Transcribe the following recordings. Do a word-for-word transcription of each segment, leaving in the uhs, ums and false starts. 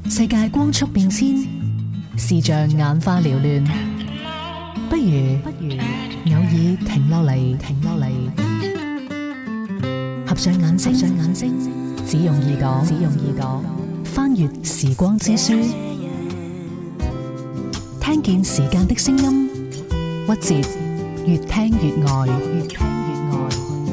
世界光速變遷，視像眼花繚亂，不如不如偶爾停落嚟，停落嚟，合上眼睛，合上眼睛，只用耳朵，只用耳朵，翻閱時光之書，聽見時間的聲音，屈折，越聽越愛，越聽越愛。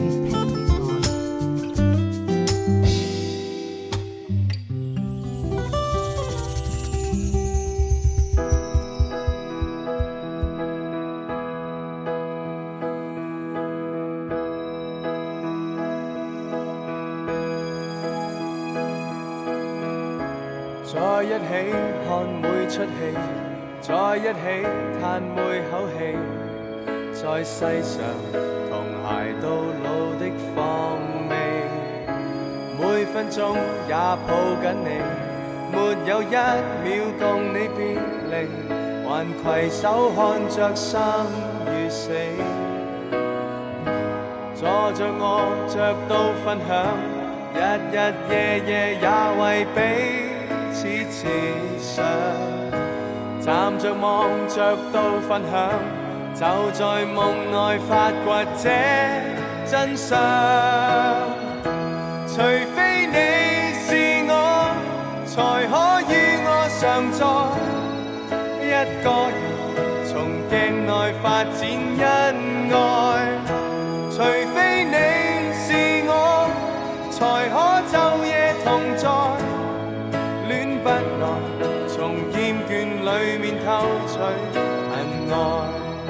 在一起看每出戲，在一起嘆每口氣，在世上同偕到老的芳味，每分鐘也抱緊你，沒有一秒共你別離，還攜手看着生與死，坐着我着到分享，日日夜夜也為彼此設想，站着望着到分享，就在夢內發掘這真相。除非你是我，才可與我常在，一個人從鏡內發展恩愛。除非你是我，才可晝夜同在，不來從厭倦裏面偷取恨愛，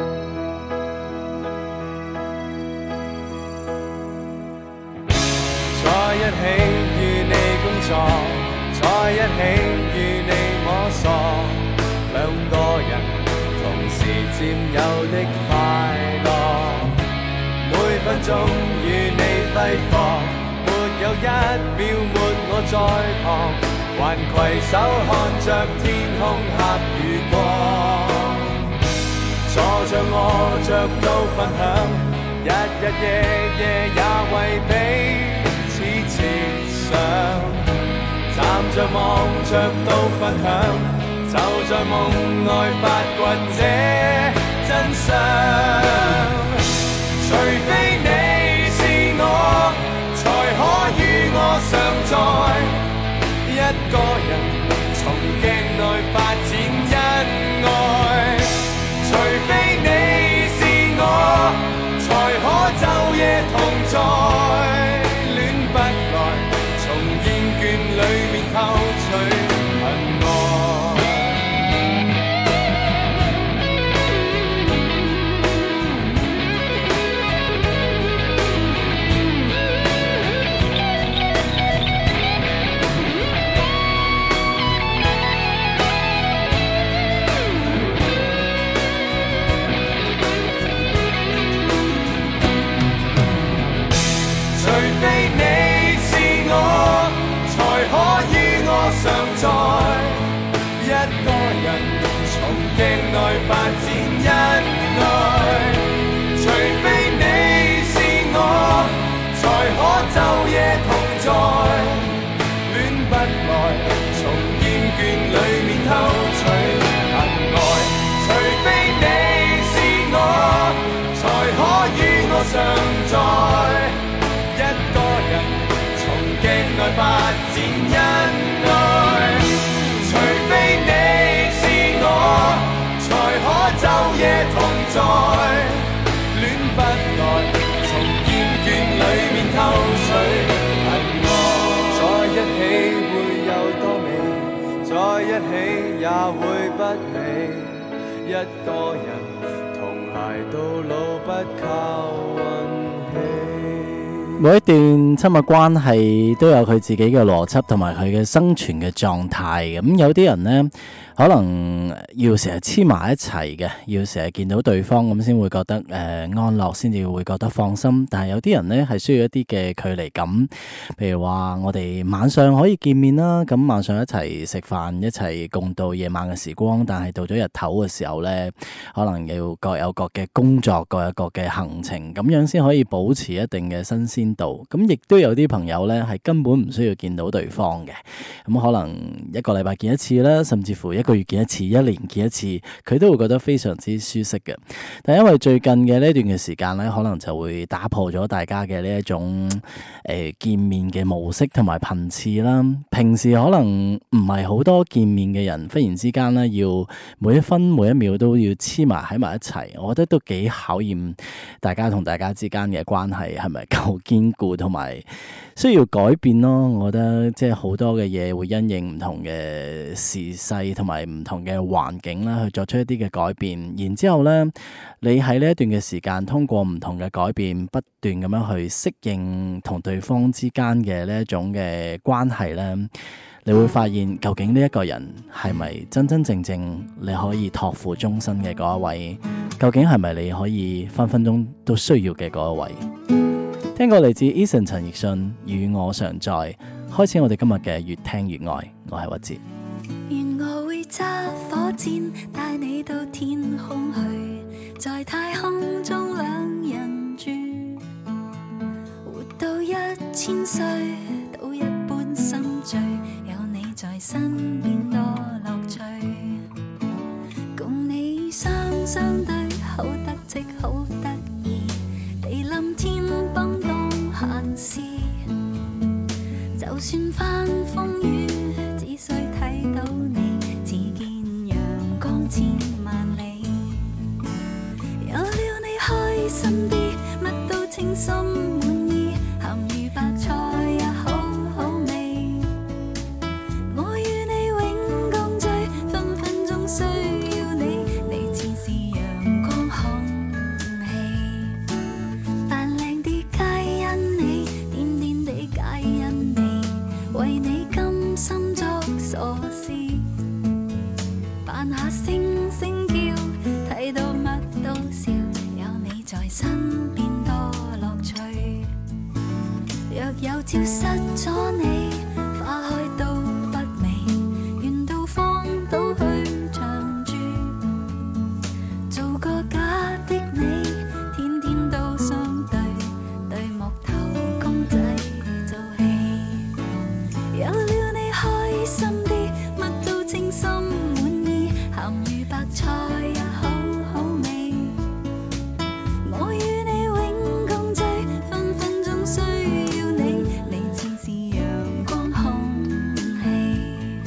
在一起與你工作，在一起與你摸索，兩個人同時佔有的快樂，每分鐘與你揮霍，沒有一秒沒我在旁，還攜手看着天空黑與光，坐着我着到分享，日日夜夜也為彼此設想，站着望着到分享，就在夢內發掘這真相。除非你是我，才可與我常在，一個人從鏡內發展恩愛。除非你是我，才可晝夜同在，戀不來從厭倦裏面偷取恨愛。常在，一個人從鏡內發展恩愛。除非你是我，才可晝夜同在，戀不來從厭倦裏面偷取恨愛。除非你是我，才可與我常在，一個人從鏡內發展恩愛。除非你是我，才可晝夜同在，戀不來從厭倦裏面偷取恨愛。在一起會有多美，在一起也會不美，一個人同偕到老不靠運氣。 每一段親密關係都有佢自己嘅邏輯同埋佢嘅生存嘅狀態。咁有啲人呢，可能要成日黐埋一齊嘅，要成日見到對方咁先會覺得誒、呃、安樂，先至會覺得放心。但係有啲人呢係需要一啲嘅距離感，譬如話我哋晚上可以見面啦，咁晚上一齊食飯，一齊共度夜晚嘅時光。但係到咗日頭嘅時候呢，可能要各有各嘅工作，各有各嘅行程，咁樣先可以保持一定嘅新鮮邊度。咁亦都有啲朋友呢係根本唔需要見到對方嘅，咁可能一個禮拜見一次啦，甚至乎一個月見一次、一年見一次，佢都會覺得非常之舒適嘅。但因為最近嘅呢段嘅時間呢，可能就會打破咗大家嘅呢一種誒、呃、見面嘅模式同埋頻次啦。平時可能唔係好多見面嘅人，忽然之間呢，要每一分每一秒都要黐埋喺埋一齊，我覺得都幾考驗大家同大家之間嘅關係係咪夠堅固，同埋需要改變咯。我覺得即係好多嘅嘢會因應唔同嘅時勢同埋唔同嘅環境啦，去作出一啲嘅改變。然之後呢，你喺呢一段嘅時間，通過唔同嘅改變，不斷咁樣去適應同對方之間嘅呢一種嘅關係呢，你會發現究竟呢一個人係咪真真正正你可以託付終身嘅嗰一位？究竟係咪你可以分分鐘都需要嘅嗰一位？聽過嚟自 Eason 陳奕迅與我常在，開始我哋今日嘅越聽越愛。我係屈哲。 願我會揸火箭帶你到天空去，在太空中兩人住，活到一千歲都一般心醉，有你在身邊多樂趣，共你雙雙對好得戚好得意，地冧天崩當閒事，就算翻風雨只需睇到你，只見陽光千萬里，有了你開心啲，乜都稱心滿意，鹹魚白菜也好好味，我與你永共聚，分分鐘需要你，你似是陽光空氣，扮靚啲皆因你，癲癲地皆因你，為你甘心作傻事，扮下星星叫，睇到乜都笑，有你在身邊多樂趣，若有朝失咗你，花開都不美，願到荒島去長住，做個假的你，天天都相對，對木頭公仔做戲，有了你開心啲，乜都稱心滿意，鹹魚白菜也好好味，我與你永共聚，分分鐘需要你，你似是陽光空氣。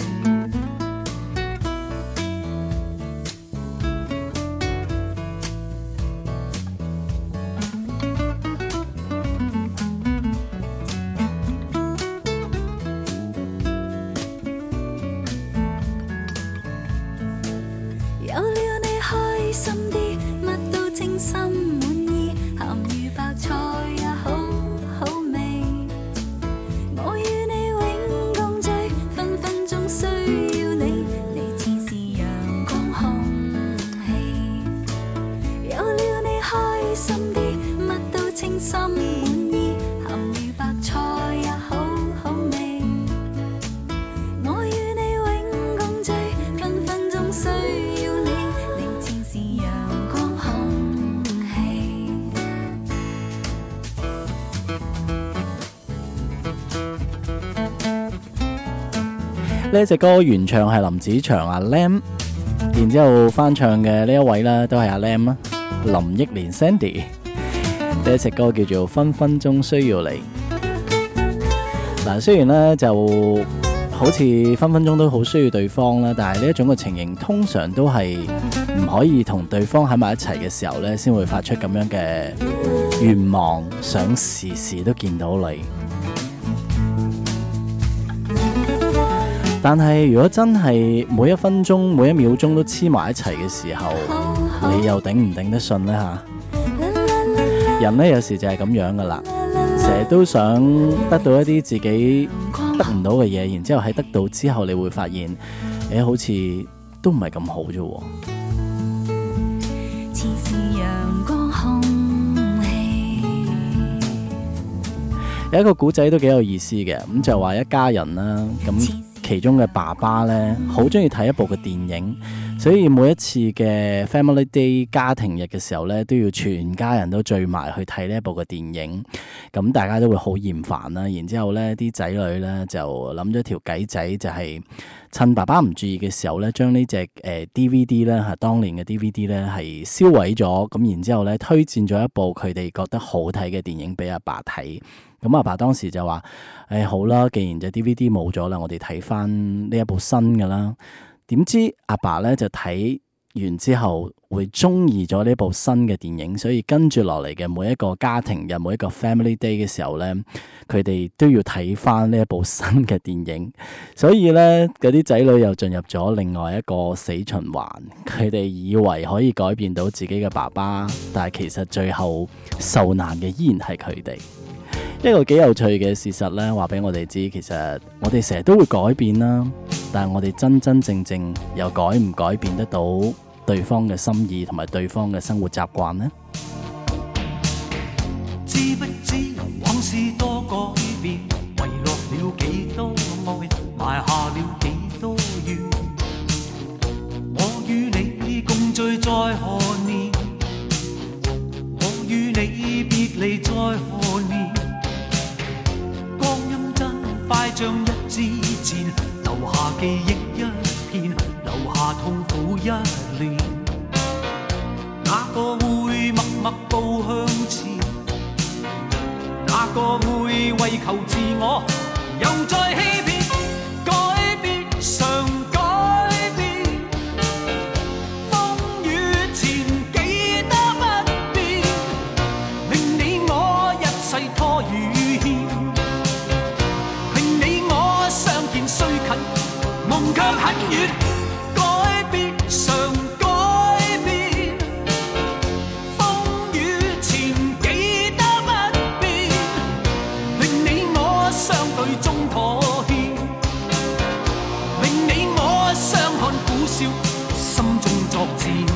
有了你開心啲，乜都稱心滿意，鹹魚白菜也好好味，我與你永共聚，分分鐘需要你，你似是陽光空氣，有了你開心啲，乜都稱心滿意，鹹魚白菜也好好味，我與你永共聚，分分鐘需要你，你似是陽光空氣。 呢一隻歌原唱係林子祥阿 Lam， 然之後翻唱嘅呢一位呢都係阿 Lam 啦，林憶蓮 Sandy。呢一隻歌叫做《分分鐘需要你》。嗱，雖然呢就好似分分鐘都好需要對方啦，但係呢一種嘅情形通常都係唔可以同對方喺埋一齊嘅時候呢，先會發出咁樣嘅願望，想時時都見到你。但係如果真係每一分鐘每一秒鐘都黐埋一齊嘅時候，你又頂唔頂得順呢？吓？人呢有時就係咁樣噶啦，成日都想得到一啲自己得唔到嘅嘢，然之後喺得到之後你會發現誒，好似都唔係咁好啫。 似是陽光空氣。 有一個古仔都幾有意思嘅，咁就話一家人啦，咁其中嘅爸爸呢，好中意睇一部嘅電影， 所以每一次嘅 Family Day 家庭日嘅時候咧，都要全家人都聚埋去睇呢一部嘅電影，咁大家都會好厭煩啦。然之後咧，啲仔女咧就諗咗條計仔，就係趁爸爸唔注意嘅時候咧，將呢隻誒 D V D 咧嚇當年嘅 D V D 咧係燒毀咗，咁然之後咧推薦咗一部佢哋覺得好睇嘅電影俾阿爸睇。咁阿爸當時就話：誒、哎、好啦，既然隻 D V D 冇咗啦，我哋睇翻呢一部新嘅啦。點知阿爸咧就睇完之後會中意咗呢部新嘅電影，所以跟住落嚟嘅每一個家庭日、每一個 Family Day 嘅時候咧，佢哋都要睇翻呢一部新嘅電影。所以咧，嗰啲仔女又進入咗另外一個死循環。佢哋以為可以改變到自己嘅爸爸，但係其實最後受難嘅依然係佢哋。一個幾有趣嘅事實咧，話俾我哋知，其實我哋成日都會改變啦，但係我哋真真正正又改唔改變得到對方嘅心意同埋對方嘅生活習慣呢？ 知不知往事多改變，遺落了幾多愛，埋下了幾多怨。我與你共聚在何年，我與你別離在何年，光陰真快像一支箭，留下記憶一片，留下痛苦一年。哪個會默默步向前？哪個會為求自我又再欺騙？改變常改變，風雨前記得不變，令你我一世拖與欠，令你我相見雖近，夢卻很遠。改變常改變，風雨前記得不變，令你我相對中妥協，令你我相看苦笑，心中作戰。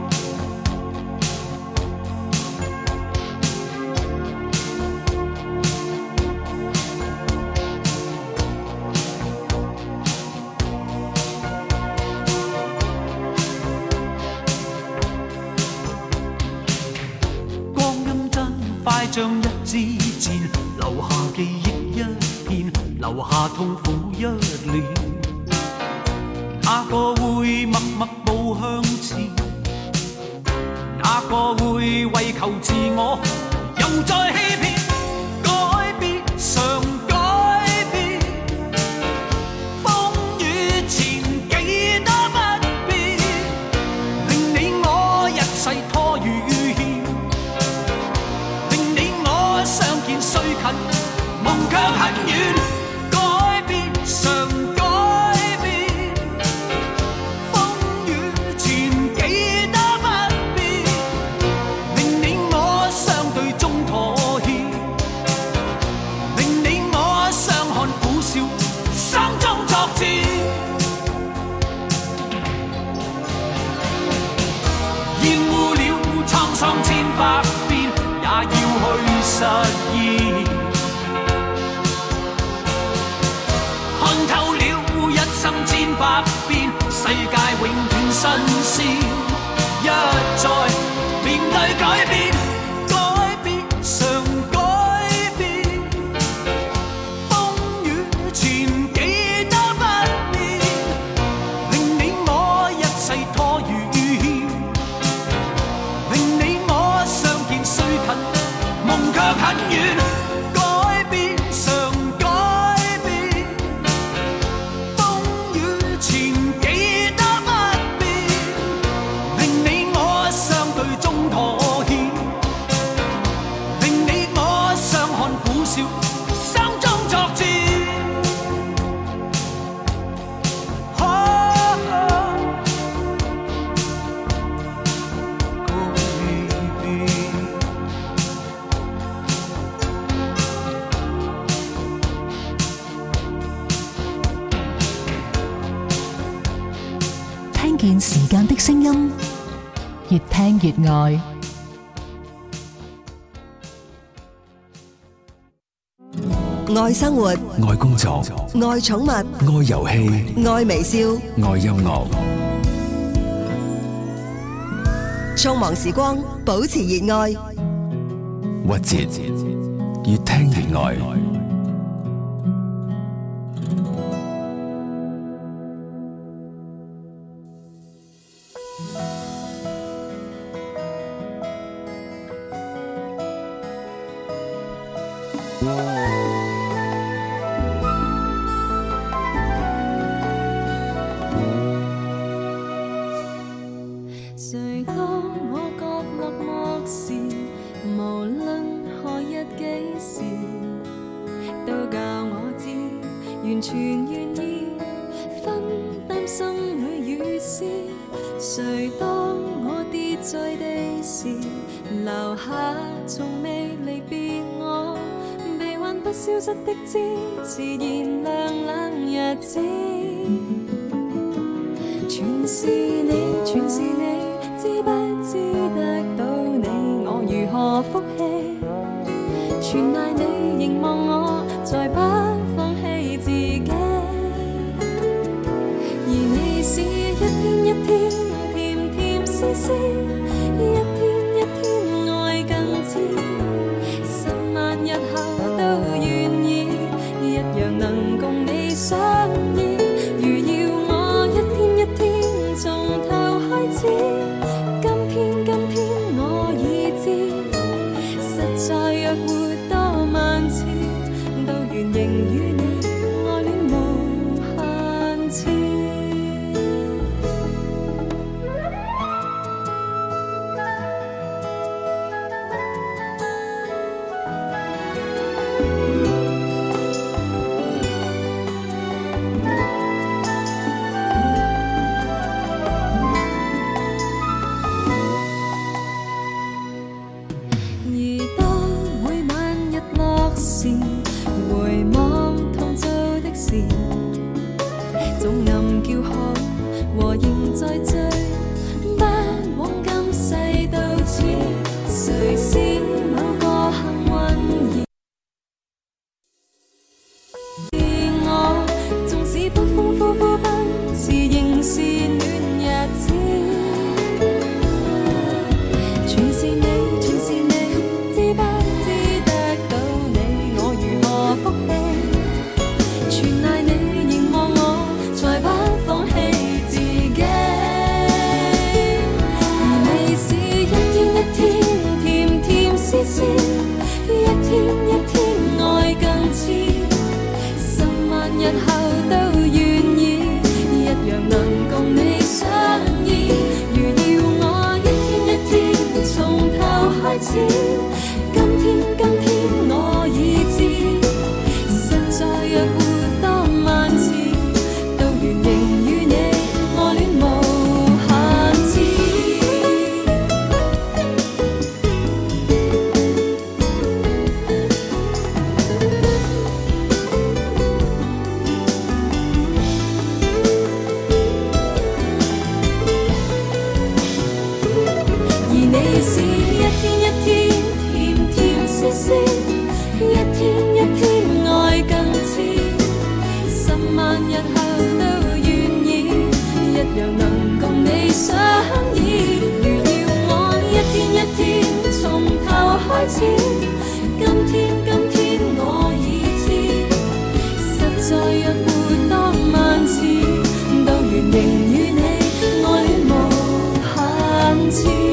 像一支箭，留下記憶一片，留下痛苦一年。哪個會默默步向前？哪個會為求自我又再欺騙？改變常改變，風雨前記得不變，令你我一世拖與相見雖近，夢卻很遠。改變常改變，風雨前記得不變，令你我相對中妥協，令你我相看苦笑，心中作戰。厭惡了滄桑千百遍，也要去實現，看透了一生千百變，世界永遠新鮮。一再面對改變，改變常改變，風雨前記得不變，令你我一世拖與欠，令你我相見雖近，夢卻很遠。改變常改變，風雨前記得不變，令你我相對中妥協，令你我相看苦笑，心中作戰。 聽見時間的聲音，越聽越愛。 愛生活， 愛工作， 愛寵物， 愛遊戲， 愛微笑， 愛音樂。 匆忙時光，保持熱愛。 屈折，越聽越愛。 誰當我角落漠視，無論何日幾時，都教我知，完全願意分擔心裏雨絲。誰當我跌在地時，留下從未離別我，臂彎不消失的枝，自然涼冷日子。全是你，全是你，知不知得到你，我如何福氣？全賴你凝望我，再不放棄自己。而你是一天一天，甜甜絲絲，一天一天愛更知，十萬日後都願意，一樣能共你相依。如要我一天一天從頭開始，今天今天我已知，實在若活多萬次，都願仍與你愛戀無限次。回望同做的事，總暗叫好和仍在追，不枉今世到此。誰是某個幸運兒？我縱使不風呼呼奔馳，仍是暖日子。全是你，全是你，知不知得到你，我如何福氣？全賴你凝望我，才不放棄自己。而你是一天一天，甜甜絲絲，一天一天愛更似，十萬日後都願意，一樣能共你相依。如要我一天一天從頭開始，今天今天我已知，實在若活多萬次，都願仍與你愛戀無限次。而你是一天一天，甜甜絲絲，一天一天愛更似，十萬日後都願意，一樣能共你相依。如要我一天一天從頭開始，今天今天我已知，實在若活多萬次，都願仍與你愛戀無限次。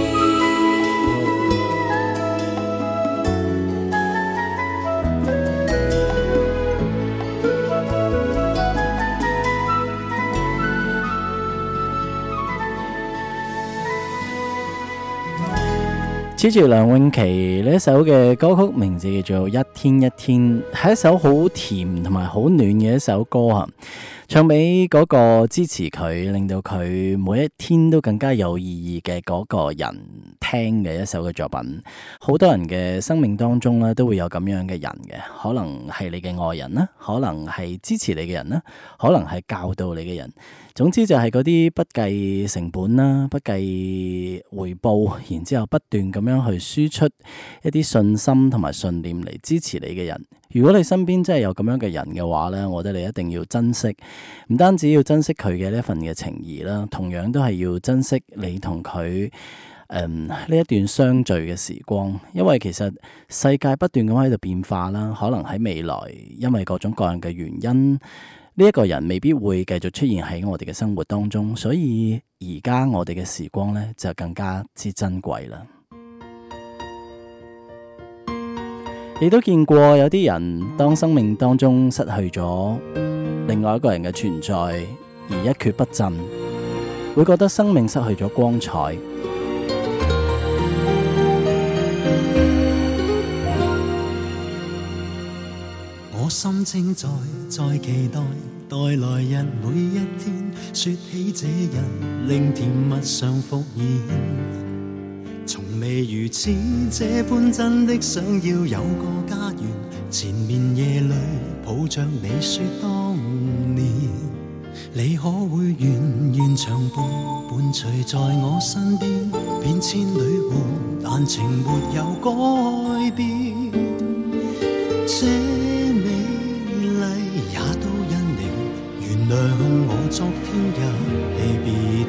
接住梁詠琪呢一首嘅歌曲，名字叫做《一天一天》，係一首好甜同埋好暖嘅一首歌啊！唱俾嗰個支持佢，令到佢每一天都更加有意義嘅嗰個人聽嘅一首嘅作品。好多人嘅生命當中咧，都會有咁樣嘅人嘅，可能係你嘅愛人啦，可能係支持你嘅人啦，可能係教導你嘅人。總之就係嗰啲不計成本啦，不計回報，然之後不斷咁樣去輸出一啲信心同埋信念嚟支持你嘅人。如果你身邊真係有咁樣嘅人嘅話呢，我覺得你一定要珍惜，唔單止要珍惜佢嘅呢一份嘅情誼啦，同樣都係要珍惜你同佢嗯呢一段相聚嘅時光，因為其實世界不斷咁喺度變化啦，可能喺未來因為各種各樣嘅原因，呢、這、一個人未必會繼續出現喺我哋嘅生活當中，所以而家我哋嘅時光呢，就更加之珍貴啦。亦都見過有啲人當生命當中失去咗另外一個人嘅存在而一蹶不振，會覺得生命失去咗光彩。 我心正在在期待待來日每一天，說起這日令甜蜜常復現，從未如此這般真的想要有個家園，前面夜裏抱着你說當年，你可會願願長伴伴隨在我身邊，變千里換但情沒有改變，這也都因你原諒我昨天一起別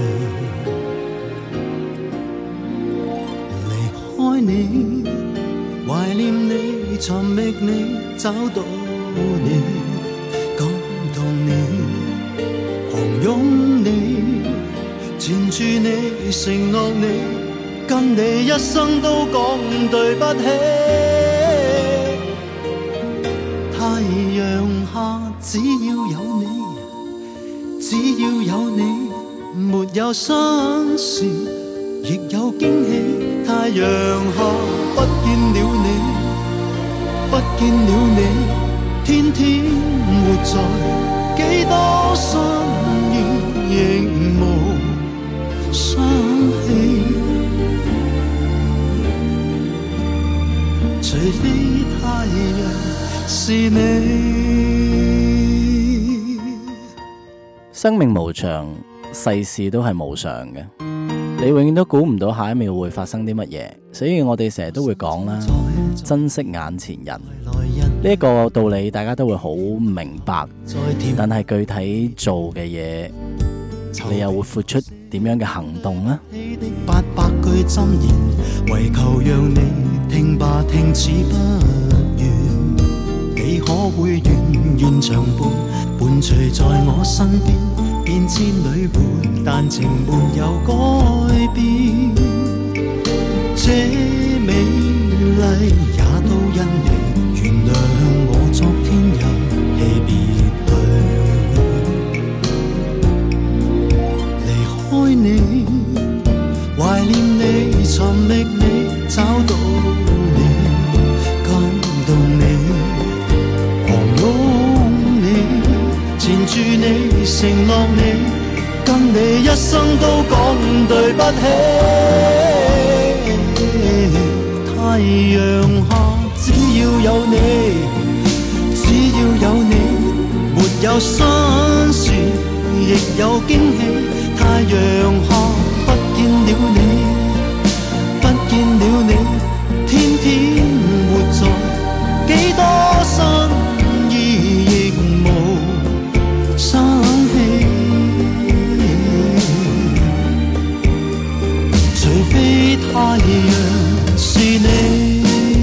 去，離開你懷念你尋覓你找到你感動你狂擁你纏住你承諾你跟你一生都講對不起，太陽下只要有你，只要有你，沒有新事亦有驚喜。太陽下不見了你，不見了你，天天活在幾多心意，亦無生氣。除非太陽是你。 生命無常，世事都係無常嘅，你永遠都估唔到下一秒會發生啲乜嘢，所以我哋成日都會講啦，珍惜眼前人呢一個道理，大家都會好明白，但係具體做嘅嘢，你又會付出點樣嘅行動呢？ 八百句箴言，為求讓你聽吧，聽似不願，你可會願願長伴伴隨在我身邊，變千里換但情沒有改變，這美麗也都因你原諒我昨天一起別去，離開你懷念你尋覓你找到你感動你狂擁你纏住你承諾你跟你一生都講對不起，太陽下只要有你，只要有你，沒有新事亦有驚喜。太陽下不見了你，不見了你，天天活在幾多新意亦無生氣，除非太陽是你。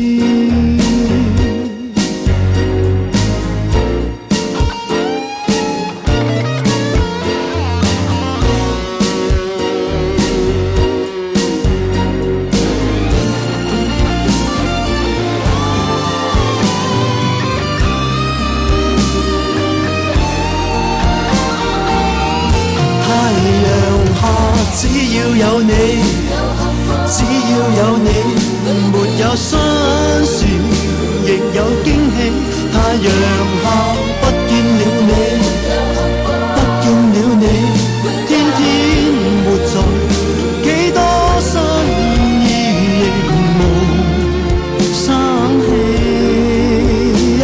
只要有你，只要有你，沒有新事亦有驚喜。太陽下不見了你，不見了你，天天活在幾多新意亦無生氣，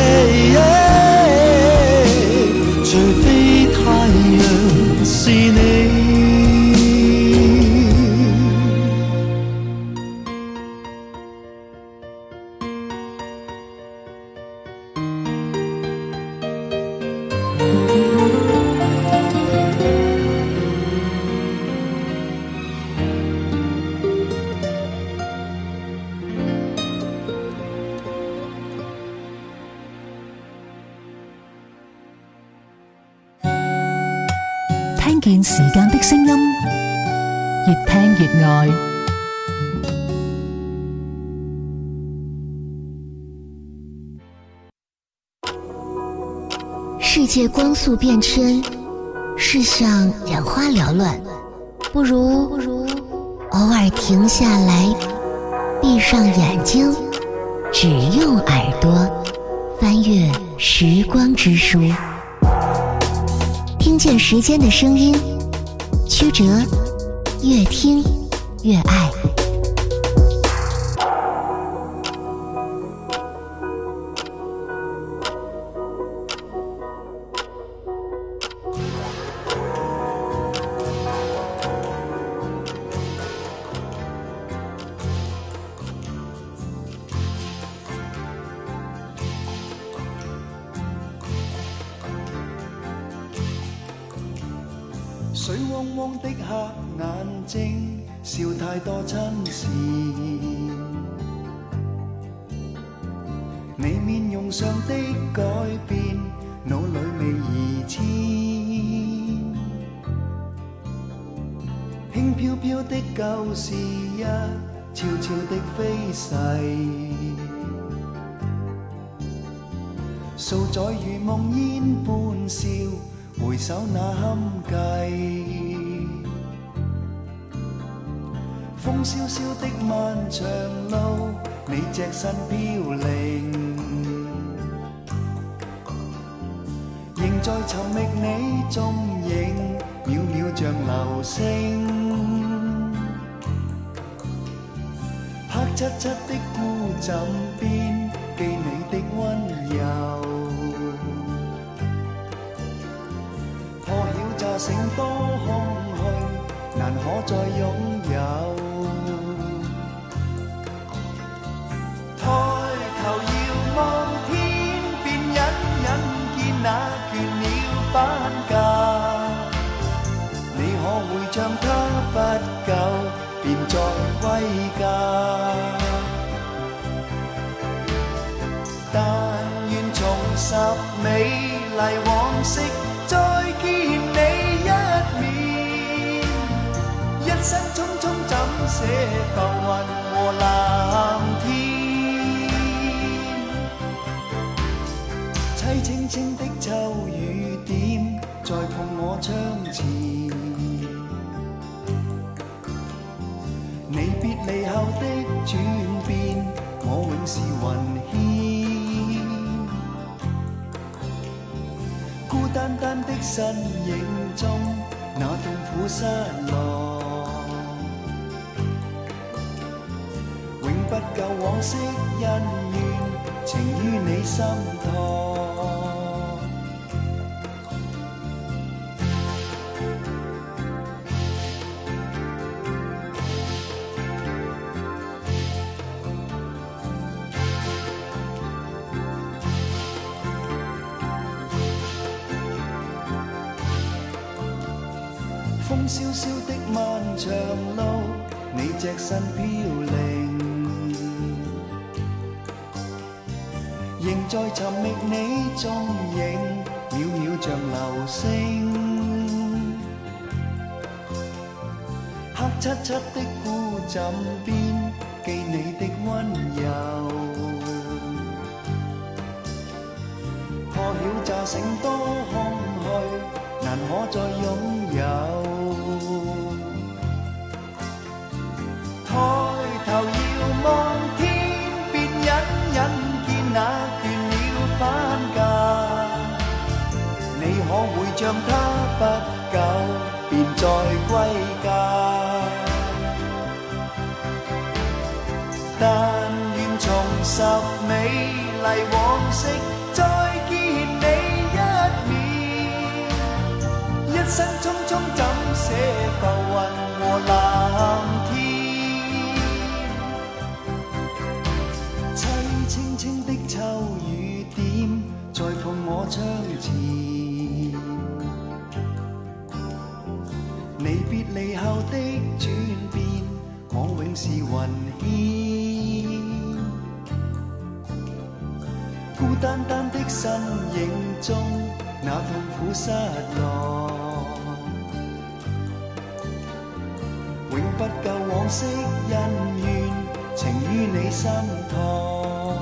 除非太陽是你。 聽見時間的聲音，越聽越愛。 世界光速变迁，世上眼花缭乱，不如不如偶尔停下来，闭上眼睛，只用耳朵翻阅时光之书，听见时间的声音，曲折，越听越爱。 水汪汪的黑眼睛，笑太多親善。你面容上的改變，腦裏未移遷。輕飄飄的舊事一悄悄的飛逝，數載如夢煙般笑。回首那堪計，風蕭蕭的漫長路，你隻身飄零，仍在尋覓你蹤影，渺渺像流星。黑漆漆的孤枕邊，記你的溫柔。成多空虛，難可再擁有。抬頭遙望天邊，隱隱見那倦鳥返家。你可會像他不久便再歸家？但願重拾美麗往昔，再見你。一生匆匆怎捨浮雲和藍天？凄清清的秋雨點，再碰我窗前。你別離後的轉變，我永是雲牽。孤單單的身影中，那痛苦失落。不夠往昔恩怨，情於你心托。風蕭蕭的漫長路，你隻身飄零。仍在尋覓你蹤影，渺渺像流星。黑漆漆的孤枕邊，記你的溫柔。破曉乍醒多空虛，難可再擁有。抬頭遙望天邊，隱隱見那返家，你可會像他不久便再歸家？但願重拾美麗往昔，再見你一面。一生匆匆怎捨浮雲和藍天？凄清清的秋雨點，再碰我窗前。你別離後的轉變，我永是雲牽。孤單單的身影中，那痛苦失落。 不夠往昔恩怨，情於你心頭。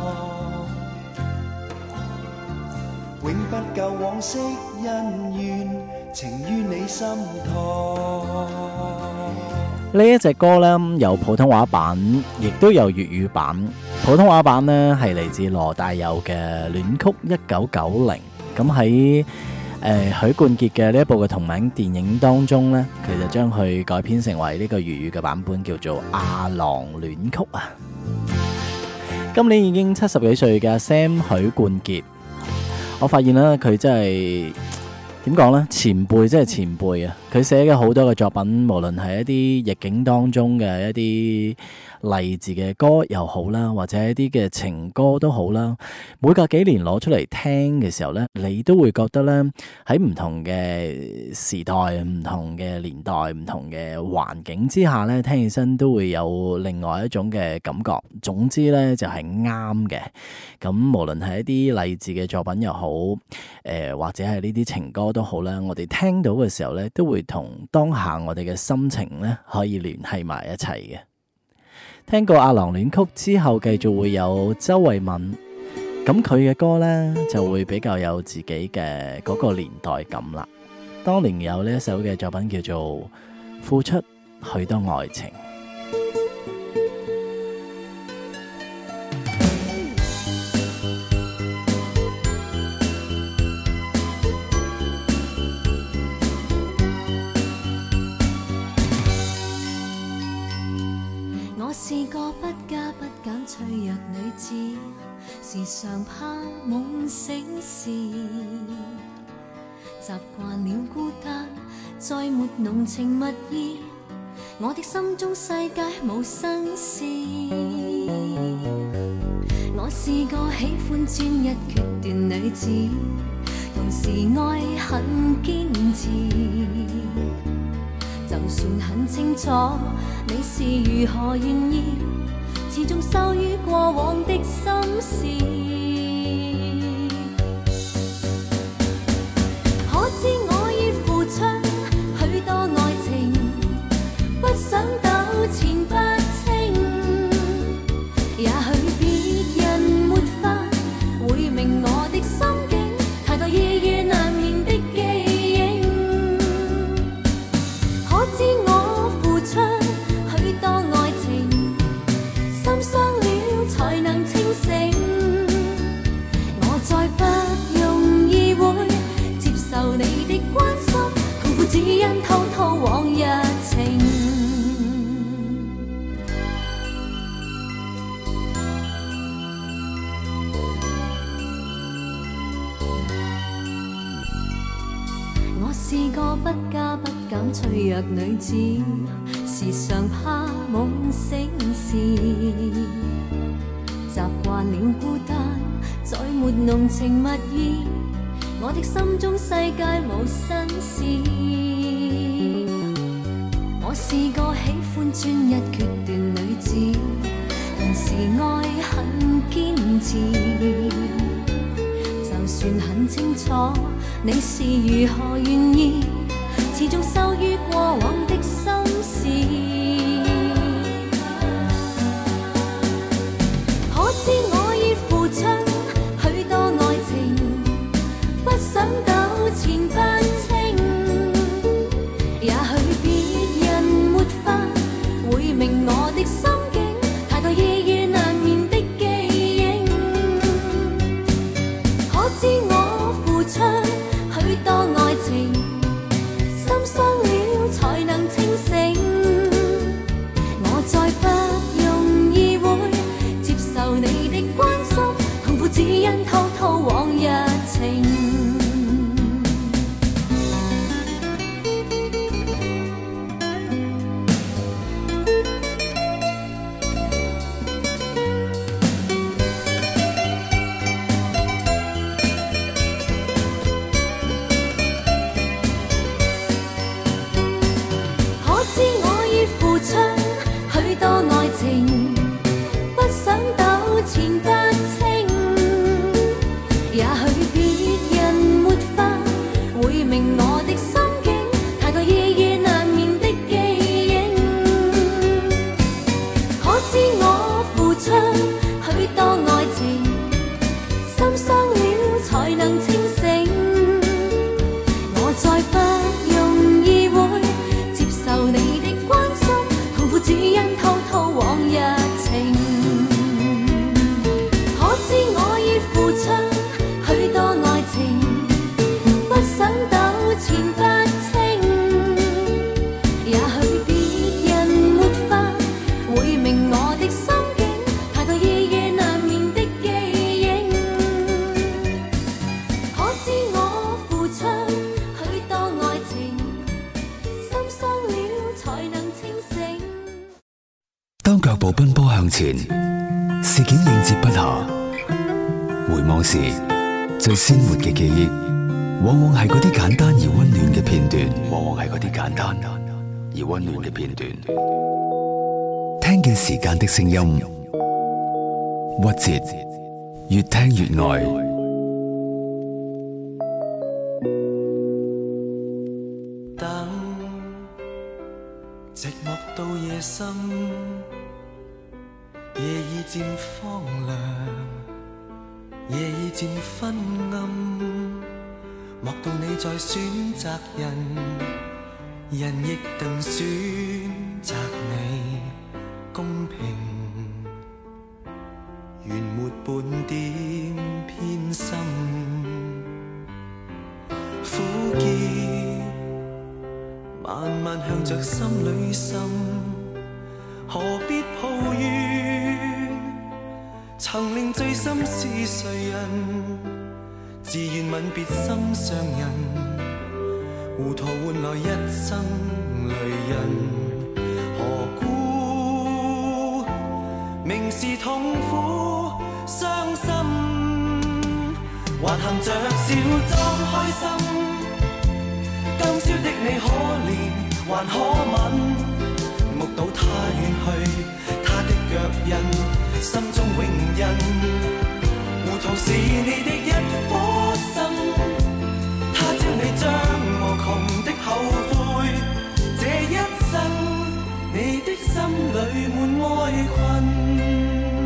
永不夠往昔恩怨，情於你心頭。 呢一隻歌呢，有普通話版，亦都有粵語版。普通話版呢，係嚟自羅大佑嘅《戀曲一九九零》。咁喺誒許冠傑嘅呢一部嘅同名電影當中呢，佢就將佢改編成為呢個粵語嘅版本，叫做《阿郎戀曲》啊。今年已經七十幾歲嘅 Sam 許冠傑，我發現咧佢真係點講呢？前輩真係前輩啊！佢寫嘅好多嘅作品，無論係一啲逆境當中嘅一啲勵志嘅歌又好啦，或者一啲嘅情歌都好啦，每隔幾年攞出嚟聽嘅時候呢，你都會覺得呢，喺唔同嘅時代、唔同嘅年代、唔同嘅環境之下呢，聽起身都會有另外一種嘅感覺。總之呢，就係啱嘅。咁無論係一啲勵志嘅作品又好，誒、呃、或者係呢啲情歌都好啦，我哋聽到嘅時候呢，都會同當下我哋嘅心情呢，可以聯繫埋一齊嘅。聽過《阿郎戀曲》之後，繼續會有周慧敏，咁佢嘅歌呢，就會比較有自己嘅嗰個年代感啦。當年有呢一首嘅作品叫做《付出許多愛情》。 是個不加不減脆弱女子，時常怕夢醒時，習慣了孤單，再沒濃情蜜意，我的心中世界無新事。我是個喜歡專一決斷女子，同時愛很堅持，就算很清楚你是如何願意，始終羞於過往的心事。可知我已付出許多愛情，不想糾纏不清，也許別人沒法會明我的心境，太多意與難眠的記憶。可知我付出許多愛情，心傷了才能清醒，我再不容易會接受你的關心，痛苦只因滔滔往日情。我是個不加不減脆弱女子，時常怕夢醒時，習慣了孤單，再沒濃情蜜意，我的心中世界無新事。我是個喜歡專一決斷女子，同時愛很堅持，就算很清楚你是如何願意，始終羞於過往的心事。可知我已付出許多愛情，不想糾纏不清，也許別人沒法會明我的心境，太多意與難眠的記憶。可知我付出許多愛情， 當腳步奔波向前，事件應接不暇。回望時，最鮮活嘅記憶，往往係嗰啲簡單而溫暖嘅片段，往往係嗰啲簡單而溫暖嘅片段。聽見時間的聲音，屈折，越聽越愛。 等，寂寞到夜深，夜已漸荒涼，夜已漸昏暗，莫道你在選擇人，人亦定選擇你公平，原沒半點偏心，苦澀慢慢向着心裏滲，何必抱怨？曾令醉心是誰人？自願吻別心上人，糊塗換來一生淚印。何故明是痛苦傷心，還含着笑裝開心？今宵的你可憐還可吻？目睹他遠去，他的腳印，心中永印。糊塗是你的一顆心，他朝你將無窮的後悔。這一生，你的心裏滿哀困。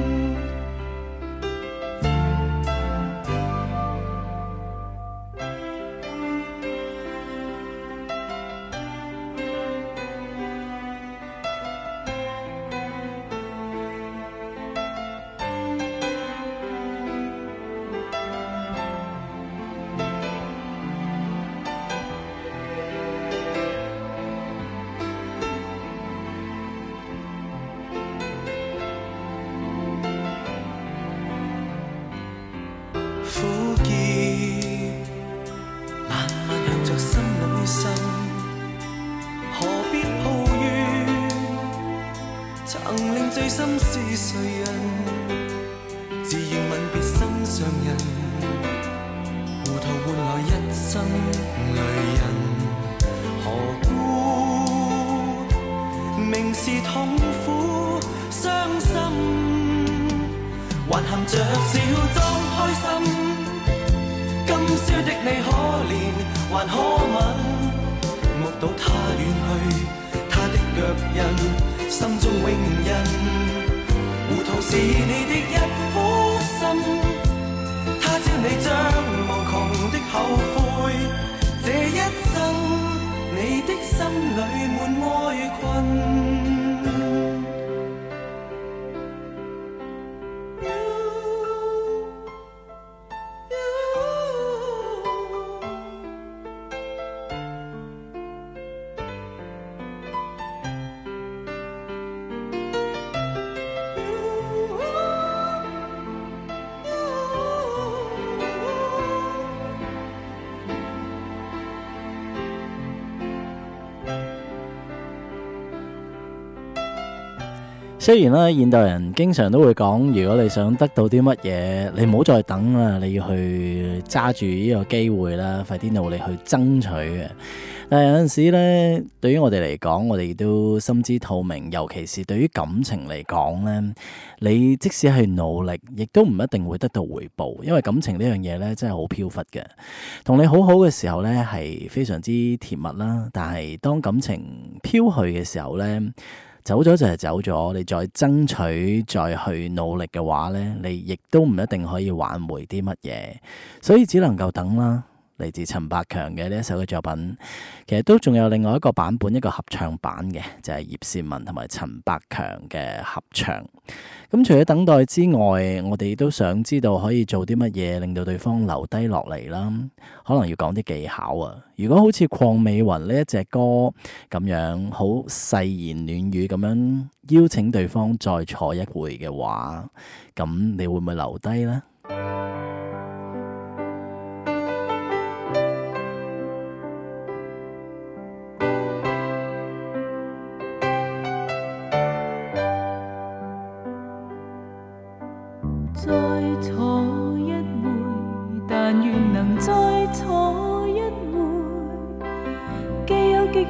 雖然咧，現代人經常都會講，如果你想得到啲乜嘢，你唔好再等啦，你要去揸住呢個機會啦，快啲努力去爭取嘅。但係有陣時咧，對於我哋嚟講，我哋都心知肚明，尤其是對於感情嚟講咧，你即使係努力，亦都唔一定會得到回報，因為感情呢樣嘢咧真係好飄忽嘅。同你好好嘅時候咧，係非常之甜蜜啦，但係當感情飄去嘅時候咧，走咗就係走咗，你再爭取再去努力嘅話呢，你亦都唔一定可以挽回啲乜嘢，所以只能夠等啦。嚟自陳百強嘅呢一首嘅作品，其實都仲有另外一個版本，一個合唱版嘅，就係葉倩文同埋陳百強嘅合唱。咁除咗等待之外，我哋都想知道可以做啲乜嘢令到對方留低落嚟啦。可能要講啲技巧啊。如果好似鄺美雲呢一隻歌咁樣，好細言暖語咁樣邀請對方再坐一回嘅話，咁你會唔會留低呢？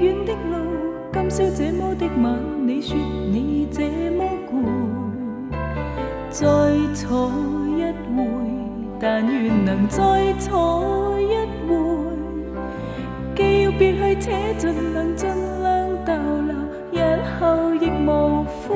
遠的路，今宵這麼的晚，你說你這麼攰，再坐一回，但願能再坐一回，既要別去且盡量盡量逗留，日後亦無悔。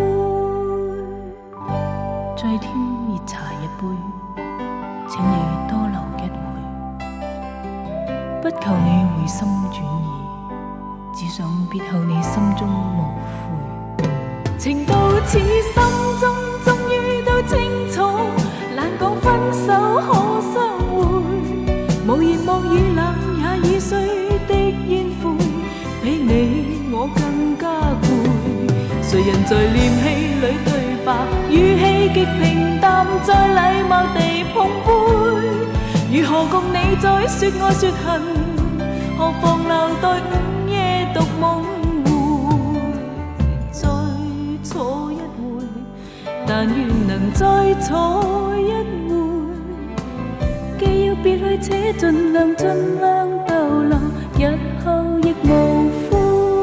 再添熱茶一杯，請你多留一回，不求你回心轉意，只想別後你心中無悔。情到此心中終於都清楚，難講分手可相會，無言無語冷也已碎的煙灰，比你我更加攰。誰人在念氣裏對白，語氣極平淡，再禮貌地碰杯，如何共你再說愛說恨，何妨留待午夜獨夢回，再坐一回，但願能再坐一回，既要別去且盡量盡量逗留，日後亦無悔。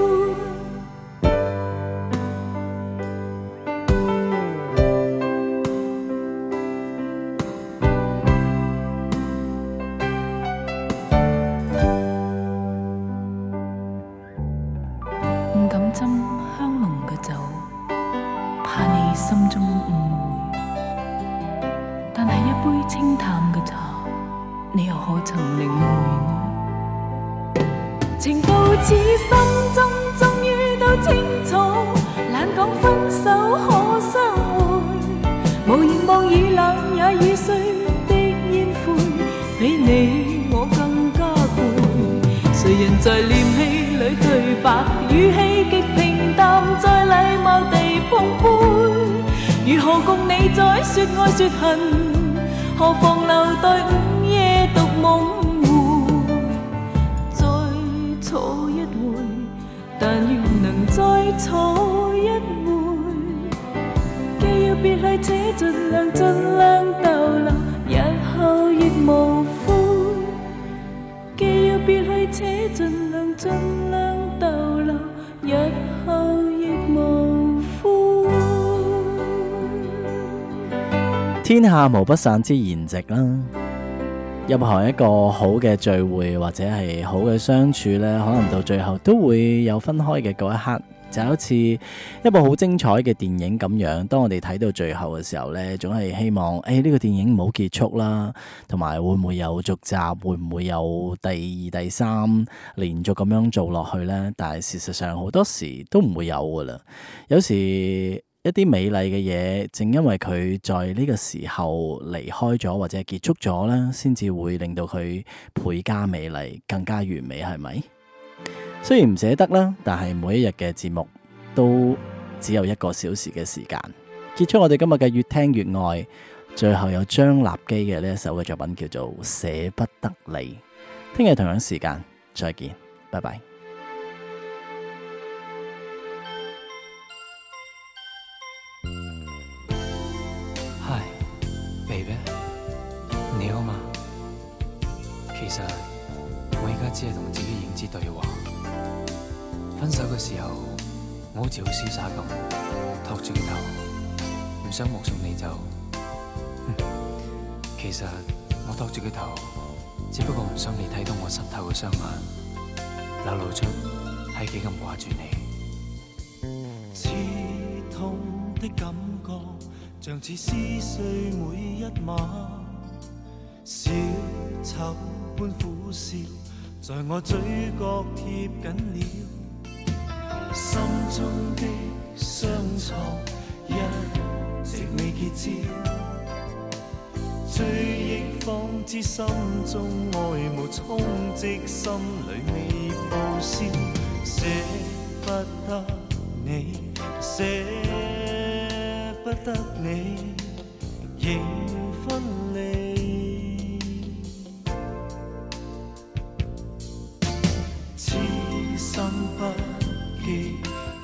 唔敢斟香濃嘅酒，怕你心中誤會，但係一杯清淡嘅茶，你又可曾領會呢？情到此心中終於都清楚，懶講分手可相會，無言無語冷也已碎的煙灰，比你我更加攰。誰人在念氣裏對白，語氣極平淡，再禮貌地碰杯，如何共你再說愛說恨，何妨留待午夜獨夢回，再坐一回，但願能再坐一回，既要別去且盡量盡量逗留，日後亦無悔，既要別去且盡量盡量逗留，日後亦無悔。 天下無不散之筵席啦，任何一個好嘅聚會或者係好嘅相處呢，可能到最後都會有分開嘅嗰一刻，就好似一部好精彩嘅電影咁樣。當我哋睇到最後嘅時候呢，總係希望誒呢個電影唔好結束啦，同埋會唔會有續集，會唔會有第二第三連續咁樣做落去呢？但係事實上好多時都唔會有噶啦。有時一啲美麗嘅嘢，正因為佢在呢個時候離開咗或者係結束咗啦，先至會令到佢倍加美麗，更加完美，係咪？雖然唔捨得啦，但係每一日嘅節目都只有一個小時嘅時間。結束我哋今日嘅越聽越愛，最後有張立基嘅呢一首嘅作品叫做《捨不得你》。聽日同樣時間再見，拜拜。 Baby， 你好嘛？其實我而家只係同自己認知對話。分手嘅時候，我好似好瀟灑咁，托住個頭，唔想目送你走。其實我托住個頭，只不過唔想你睇到我濕透嘅雙眼，流露出係幾咁掛住你。 刺痛的感覺，像似撕碎每一晚，小丑般苦笑，在我嘴角貼緊了，心中的傷創一直未結痂，追憶方知心中愛慕充積，心裏未報銷，捨不得你，捨不得你，仍分離，痴心不羈，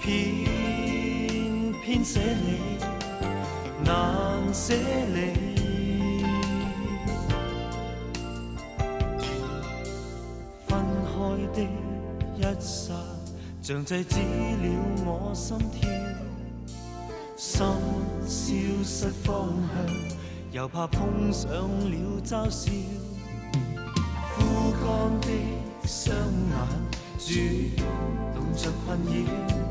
偏偏捨你，難捨離。分開的一剎， 像制止了我心跳，心消失方向，又怕碰上了嘲笑。枯乾的雙眼，主動着困擾。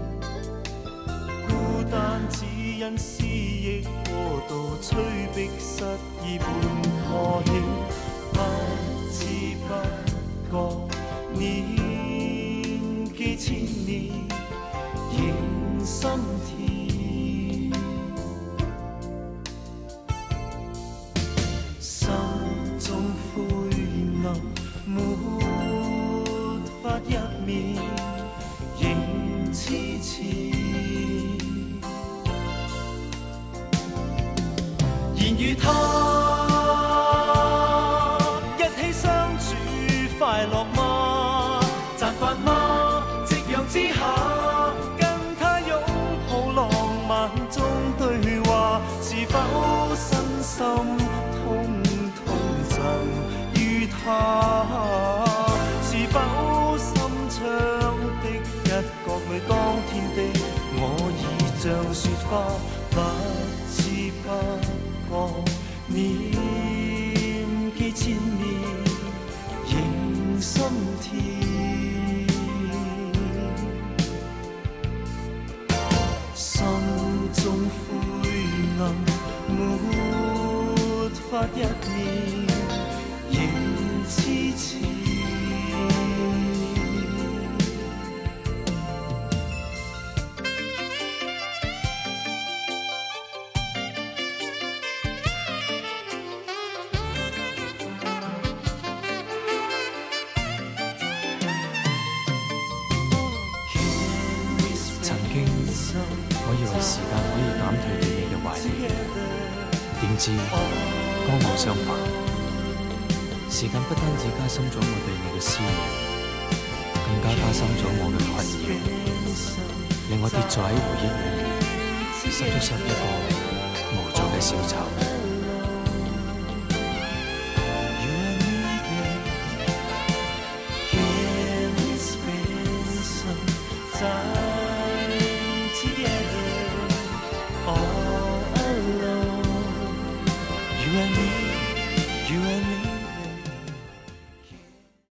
孤單只因思憶過度，催逼失意半破曉。不知不覺年紀千年，仍心跳。心中灰暗，沒法入眠，仍痴纏。然與他一起相處快樂嗎？習慣嗎？夕陽之下跟他擁抱浪漫中對話，是否身心通通贈於他？是否心窗的一角裏當天的我已像雪花，不知不覺年紀千年，仍心跳。心中灰暗，沒法入眠，仍痴纏。 我以為時間可以減退對你嘅懷念，點知剛好相反。時間不單止加深咗我對你嘅思念，更加加深咗我嘅困擾，令我跌咗喺回憶裏面，失咗失一個無助嘅小丑。 Together, all